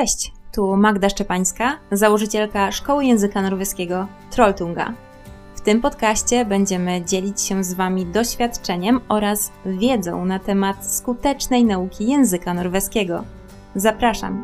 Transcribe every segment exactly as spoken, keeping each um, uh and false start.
Cześć, tu Magda Szczepańska, założycielka Szkoły Języka Norweskiego Trolltunga. W tym podcaście będziemy dzielić się z Wami doświadczeniem oraz wiedzą na temat skutecznej nauki języka norweskiego. Zapraszam!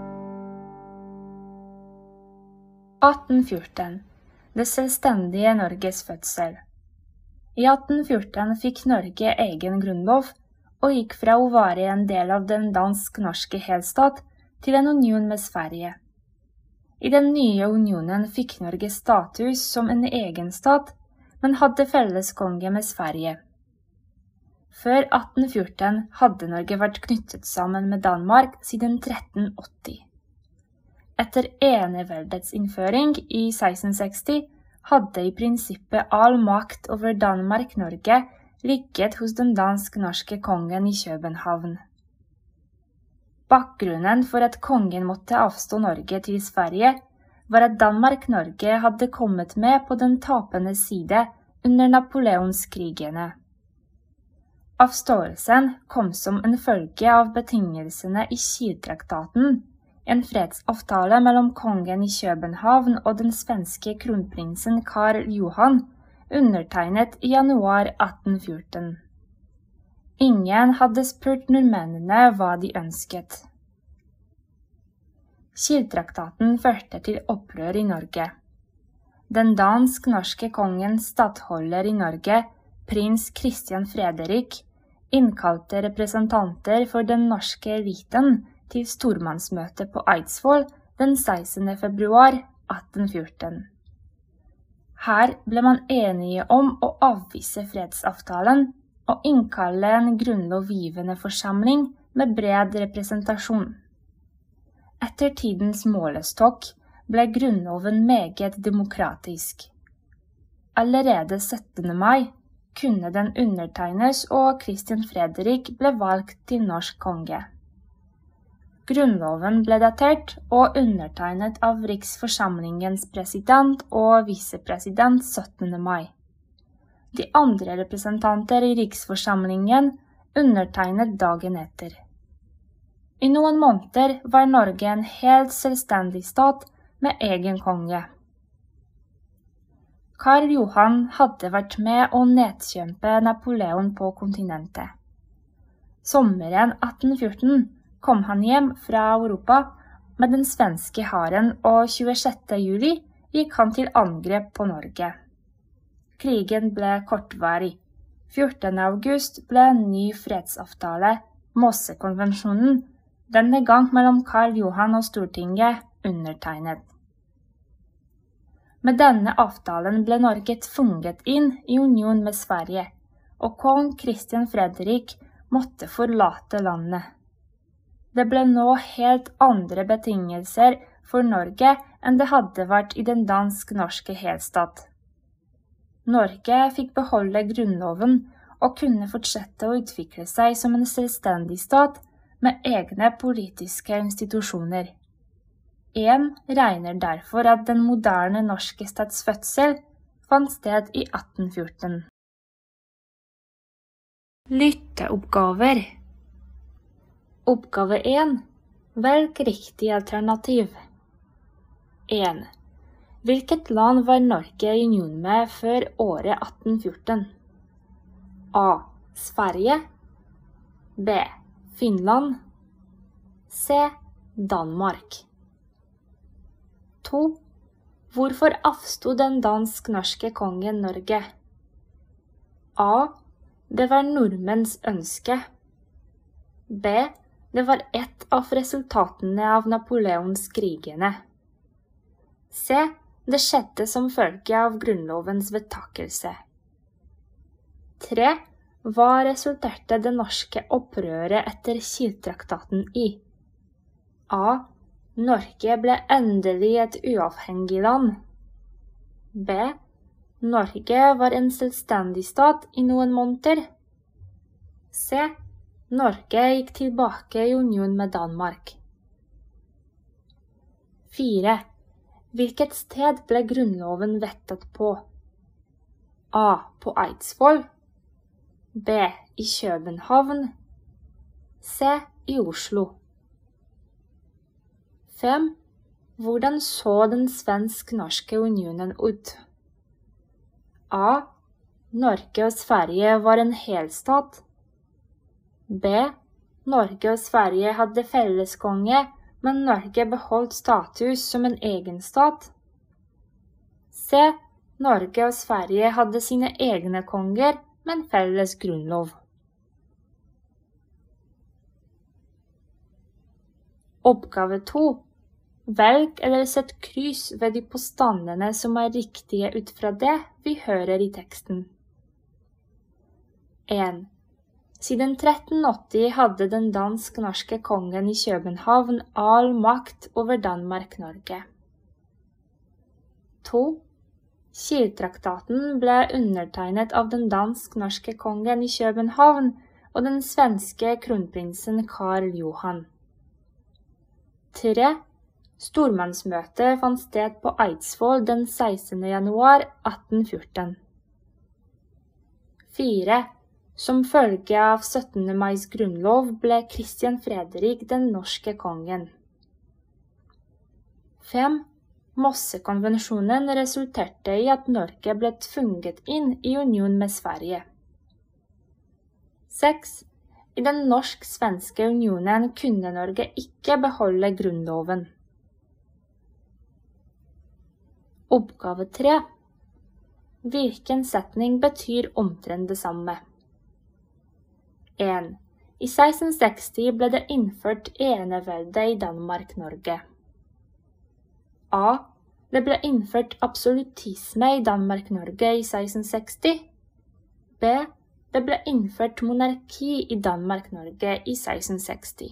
atten fjorten. Det selvstendige Norges fødsel. I atten fjorten fikk Norge egen grunnlov, og gikk fra å være en del av den dansk-norske helstat til en union med Sverige. I den nye unionen fikk Norge status som en egen stat, men hadde felles konge med Sverige. Før atten fjorten hadde Norge vært knyttet sammen med Danmark siden tretten åtti. Etter eneveldets innføring i seksten seksti hadde i prinsippet all makt over Danmark-Norge ligget hos den dansk-norske kongen i København. Bakgrunnen for at kongen måtte avstå Norge til Sverige var at Danmark-Norge hadde kommet med på den tapende side under Napoleonskrigene. Avståelsen kom som en følge av betingelsene i Kiel-traktaten, en fredsavtale mellom kongen i København og den svenske kronprinsen Karl Johan, undertegnet i januar atten fjorten. Ingen hadde spurt nordmennene hva de ønsket. Kiel-traktaten førte til opprør i Norge. Den dansk-norske kongens stattholder i Norge, prins Christian Frederik, innkalte representanter for den norske eliten til stormannsmøte på Eidsvoll den sekstende februar atten fjorten. Her ble man enige om å avvise fredsavtalen og innkalle en grunnlovgivende forsamling med bred representasjon. Etter tidens målestokk ble grunnloven meget demokratisk. Allerede syttende mai kunne den undertegnes og Christian Frederik ble valgt til norsk konge. Grunnloven ble datert og undertegnet av Riksforsamlingens president og visepresident syttende mai. De andre representanter i Riksforsamlingen undertegnet dagen etter. I noen måneder var Norge en helt selvstendig stat med egen konge. Karl Johan hadde vært med å nedkjempe Napoleon på kontinentet. Sommeren atten fjorten kom han hjem fra Europa med den svenske hæren, og tjuesjette juli gikk han til angrep på Norge. Krigen ble kortvarig. fjortende august ble en ny fredsavtale, Mossekonvensjonen, denne gang mellom Karl Johan og Stortinget, undertegnet. Med denne avtalen ble Norge tvunget inn i union med Sverige, og kong Christian Frederik måtte forlate landet. Det ble nå helt andre betingelser for Norge enn det hadde vært i den dansk-norske helstat. Norge fikk beholde grunnloven og kunne fortsette å utvikle seg som en selvstendig stat med egne politiske institusjoner. En regner derfor at den moderne norske stats fødsel fant sted i atten fjorten. Lytteoppgaver. Oppgave én. Velg riktig alternativ. en. Hvilket land var Norge i union med før året atten fjorten? A. Sverige. B. Finland. C. Danmark. to. Hvorfor avstod den dansk-norske kongen Norge? A. Det var nordmenns ønske. B. Det var ett av resultatene av Napoleonskrigene. C. Det skjedde som følge av grunnlovens vedtakelse. tre. Hva resulterte det norske opprøret etter Kiel-traktaten i? A. Norge ble endelig et uavhengig land. B. Norge var en selvstendig stat i noen måneder. C. Norge gikk tilbake i union med Danmark. fire. Hvilket sted ble grunnloven vedtatt på? A. På Eidsvoll. B. I København. C. I Oslo. fem. Hvordan så den svensk-norske unionen ut? A. Norge og Sverige var en helstat. B. Norge og Sverige hadde felleskonge, men Norge beholdt status som en egen stat. C. Norge og Sverige hadde sine egne konger, men felles grunnlov. Oppgave to. Velg eller sett kryss ved de påstandene som er riktige ut fra det vi hører i teksten. en. Siden tretten åtti hadde den dansk-norske kongen i København all makt over Danmark-Norge. to. Kiel-traktaten ble undertegnet av den dansk-norske kongen i København og den svenske kronprinsen Karl Johan. tre. Stormannsmøtet fant sted på Eidsvoll den sekstende januar atten fjorten. fire. Som følge av syttende mais grunnlov ble Christian Frederik den norske kongen. fem. Mossekonvensjonen resulterte i at Norge ble tvunget inn i union med Sverige. seks. I den norsk-svenske unionen kunne Norge ikke beholde grunnloven. Oppgave tre. Hvilken setning betyr omtrent det samme? en. I seksten seksti ble det innført enevelde i Danmark-Norge. A. Det ble innført absolutisme i Danmark-Norge i seksten seksti. B. Det ble innført monarki i Danmark-Norge i seksten seksti.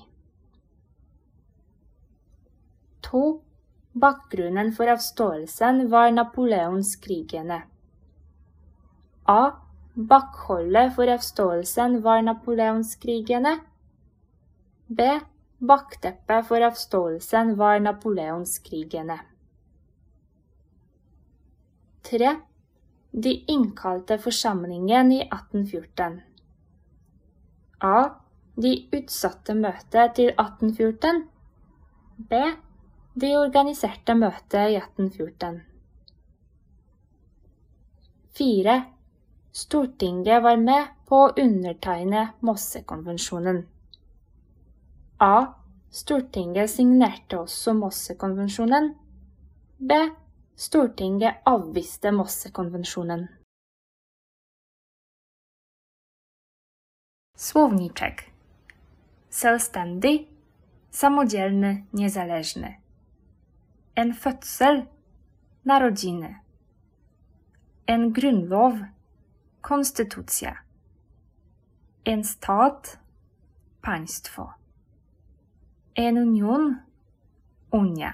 to. Bakgrunnen for avståelsen var Napoleonskrigene. A. Bakholdet for avståelsen var Napoleonskrigene. B. Bakteppet for avståelsen var Napoleonskrigene. tre. De innkalte forsamlingen i atten fjorten. A. De utsatte møtet til atten fjorten. B. De organiserte møtet i atten fjorten. fire. Stortinget var med på å undertegne Mossekonvensjonen. A. Stortinget signerte også Mossekonvensjonen. B. Stortinget avviste Mossekonvensjonen. Słowniczek. Selvstendig, samodzielny, niezależny. En fødsel, narodziny. En grunnlov, konstytucja. En stat, państwo. En union, unia.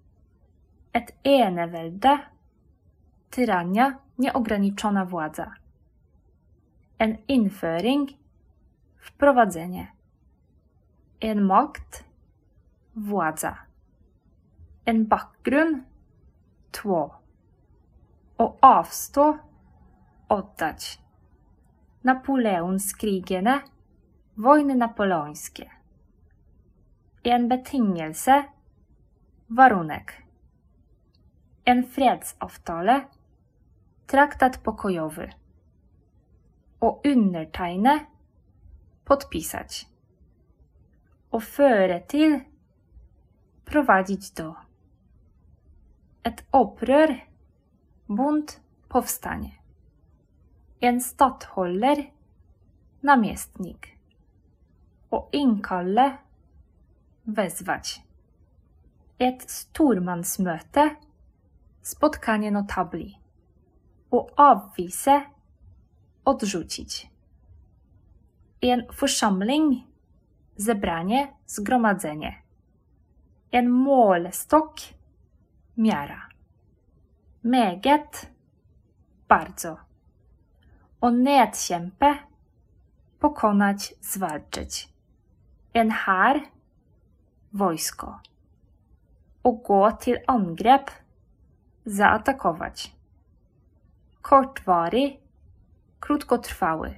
Et enevelde, tyrania, nieograniczona władza. En innføring, wprowadzenie. En makt, władza. En bakgrunn, tło. Å avstå, oddać. Napoleonskrigene, wojny napoleońskie. En betingelse, warunek. En fredsavtale, traktat pokojowy. Å undertegne, podpisać. Å føre til, prowadzić do. Et opprør, bunt, powstanie. En stattholder, namiestnik. Å innkalle, wezwać. Et stormannsmøte, spotkanie notabli. Å avvise, odrzucić. En forsamling, zebranie, zgromadzenie. En målestokk, miara. Meget, bardzo. Å nedkjempe, pokonać, zwalczyć. En hær, wojsko. Å gå til angrep, zaatakować. Kortvarig, krótkotrwały.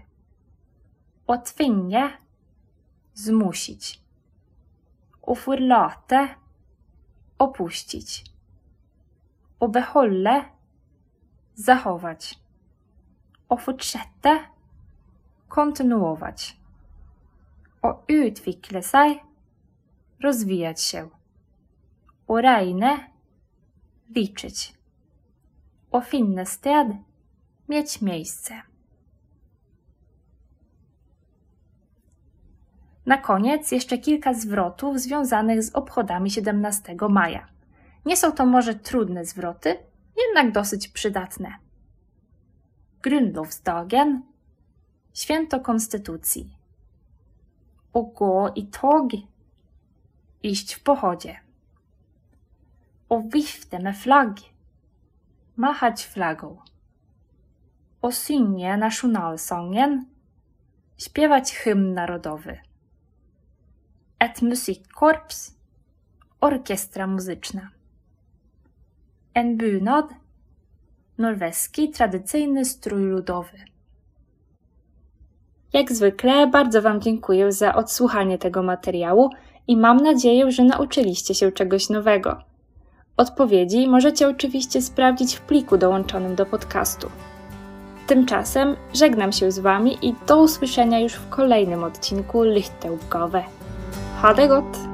Å tvinge, zmusić. Å forlate, opuścić. Å beholde, zachować. Å fortsette, kontynuować. Å utvikle seg, rozwijać się. Å regne, liczyć. Å finne sted, mieć miejsce. Na koniec jeszcze kilka zwrotów związanych z obchodami siedemnastego maja. Nie są to może trudne zwroty, jednak dosyć przydatne. Grundlovsdagen, święto konstytucji. Å gå i tog, iść w pochodzie. Å vifte med flagg, machać flagą. Å synge nasjonalsangen, śpiewać hymn narodowy. Et musikkorps, orkiestra muzyczna. En bunad, norweski tradycyjny strój ludowy. Jak zwykle bardzo Wam dziękuję za odsłuchanie tego materiału i mam nadzieję, że nauczyliście się czegoś nowego. Odpowiedzi możecie oczywiście sprawdzić w pliku dołączonym do podcastu. Tymczasem żegnam się z Wami i do usłyszenia już w kolejnym odcinku Lyhteuppgave. Ha det godt!